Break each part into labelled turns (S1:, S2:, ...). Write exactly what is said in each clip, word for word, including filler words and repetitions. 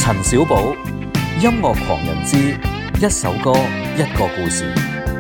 S1: 陳小寶，音樂狂人之一首歌一個故事。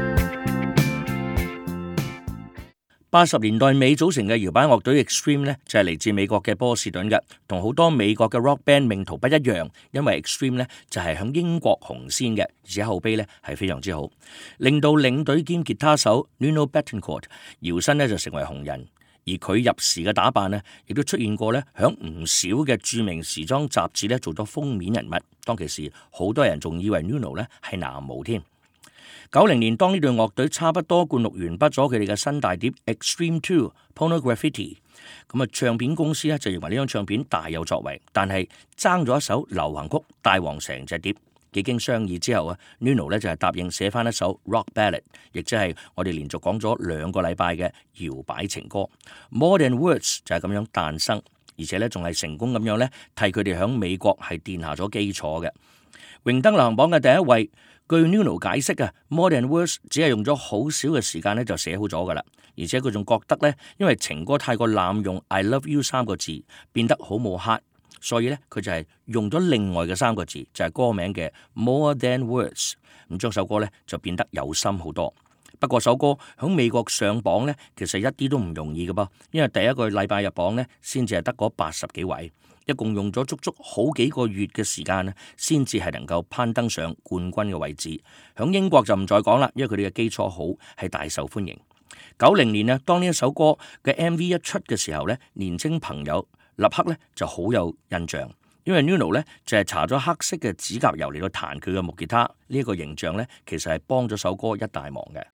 S2: 八十年代尾組成嘅搖擺樂隊 Extreme 呢，就係嚟自美國嘅波士頓嘅，同好多美國嘅 rock band 命途不一樣，因為 Extreme 呢就係響英國紅先嘅，而且口碑呢係非常之好，令到領隊兼吉他手 Nuno Bettencourt 搖身呢就成為紅人，而佢入時嘅打扮呢，亦都出現過呢響唔少嘅著名時裝雜誌呢做咗封面人物，當其時好多人仲以為 Nuno 呢係男模添。九零年，當呢隊樂隊差不多灌錄完畢咗佢哋嘅新大碟 Extreme two Pornography， 咁啊唱片公司咧就認為呢張唱片大有作為，但係爭咗一首流行曲帶旺成隻碟。幾經商議之後啊 Nuno 咧就係答應寫翻一首 rock ballad， 亦即係我哋連續講咗兩個禮拜嘅搖擺情歌 More Than Words 就係咁樣誕生，而且咧仲係成功咁樣咧替佢哋響美國係奠下咗基礎嘅。榮登流行榜嘅第一位。據 Nuno 解釋啊 More Than Words 只係用咗好少嘅時間咧就寫好咗噶啦，而且佢仲覺得咧，因為情歌太過濫用 I love you 三個字，變得好冇 heart， 所以咧佢就係用咗另外嘅三個字，就係歌名嘅 More Than Words， 咁將首歌咧就變得有心好多。不過首歌喺美國上榜咧，其實一啲都唔容易嘅噃，因為第一個禮拜入榜咧，先至係得嗰八十幾位。一共用咗足足好幾個月嘅時間咧，先至係能夠攀登上冠軍嘅位置。響英國就唔再講啦，因為佢哋嘅基礎好，係大受歡迎。九零年呢，當呢一首歌嘅 M V 一出嘅時候咧，年青朋友立刻咧就好有印象，因為 Nuno 咧就係搽咗黑色嘅指甲油嚟到彈佢嘅木吉他，呢、這、一個形象咧其實係幫咗首歌一大忙嘅。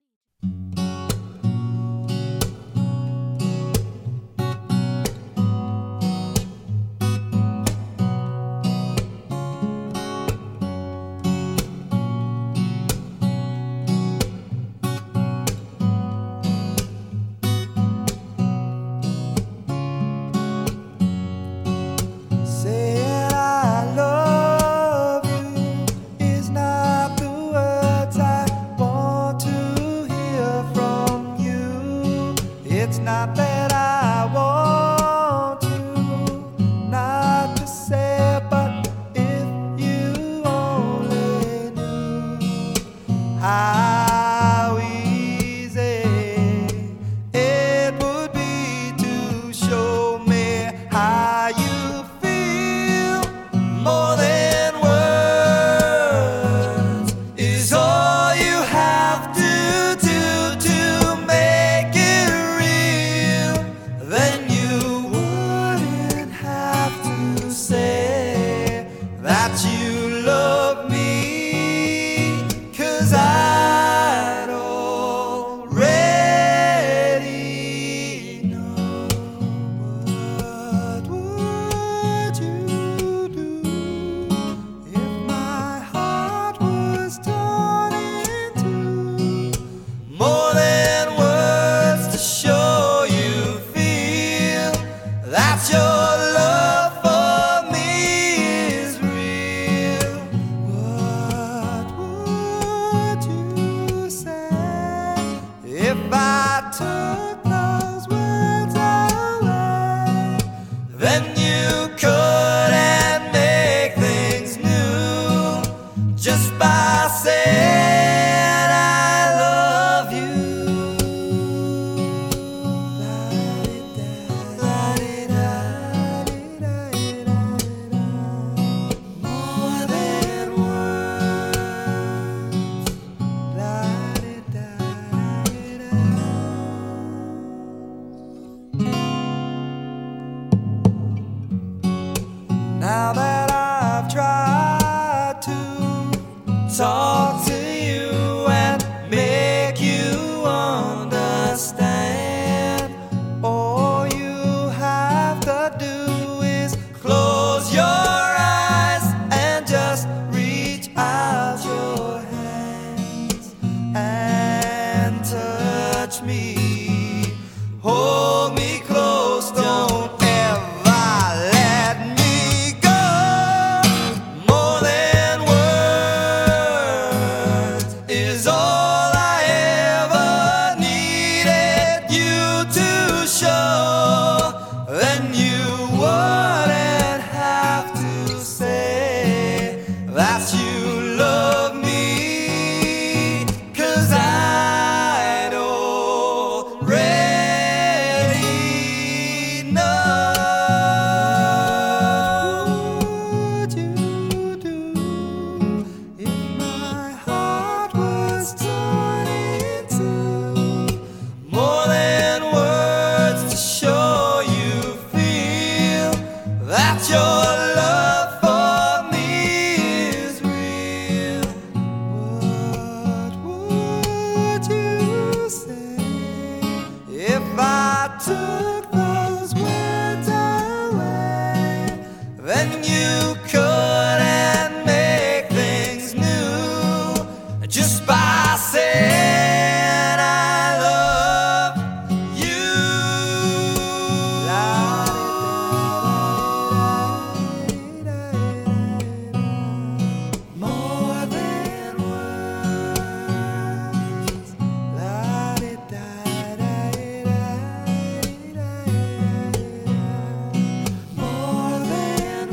S3: Now that I've tried to talk to you and make you understand, all you have to do is close your eyes and just reach out your hands and touch me, hold me close, don't ever let me go. that your love for me is real. What would you say if I took those words away? Then you couldn't make things new just by saying I love you. More than words. More than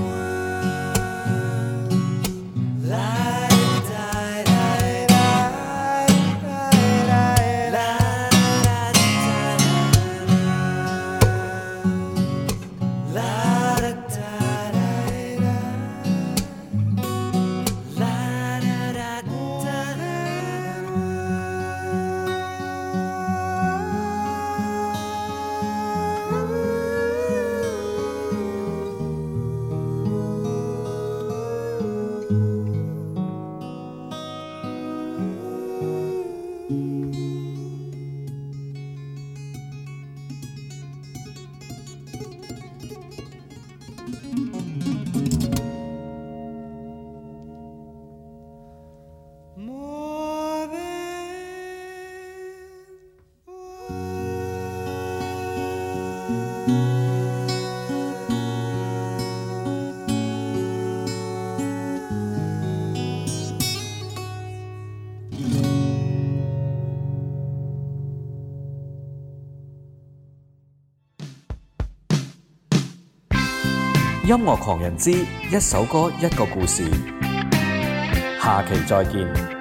S1: 音樂狂人之一首歌一個故事，下期再見。